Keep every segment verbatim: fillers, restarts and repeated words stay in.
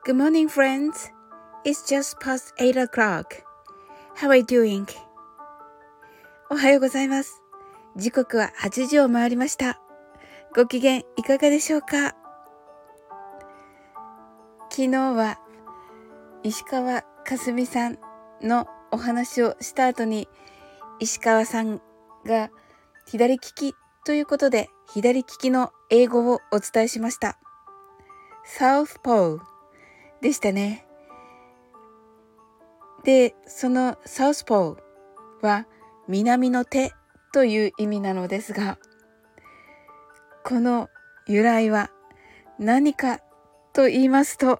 Good morning, friends. It's just past eight o'clock. How are you doing? おはようございます。時刻ははちじを回りました。ご機嫌いかがでしょうか？昨日は石川佳純さんのお話をした後に、石川さんが左利きということで、左利きの英語をお伝えしました。Southpawでしたね。で、その Southpaw は南の手という意味なのですが、この由来は何かと言いますと、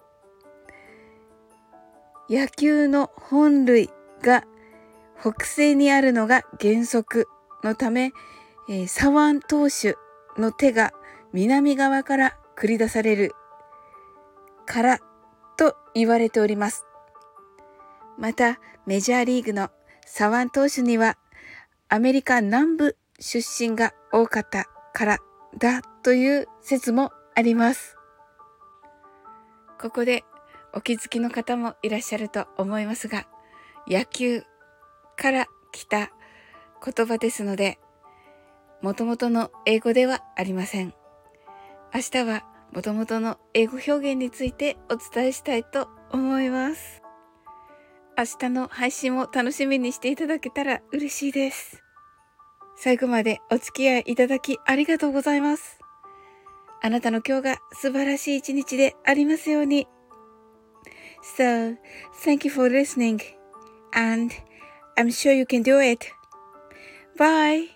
野球の本塁が北西にあるのが原則のため、えー、左腕投手の手が南側から繰り出されるからと言われております。またメジャーリーグの左腕投手にはアメリカ南部出身が多かったからだという説もあります。ここでお気づきの方もいらっしゃると思いますが、野球から来た言葉ですので、元々の英語ではありません。明日は元々の英語表現についてお伝えしたいと思います。明日の配信を楽しみにしていただけたら嬉しいです。最後までお付き合いいただきありがとうございます。あなたの今日が素晴らしい一日でありますように。So, thank you for listening, and I'm sure you can do it. Bye!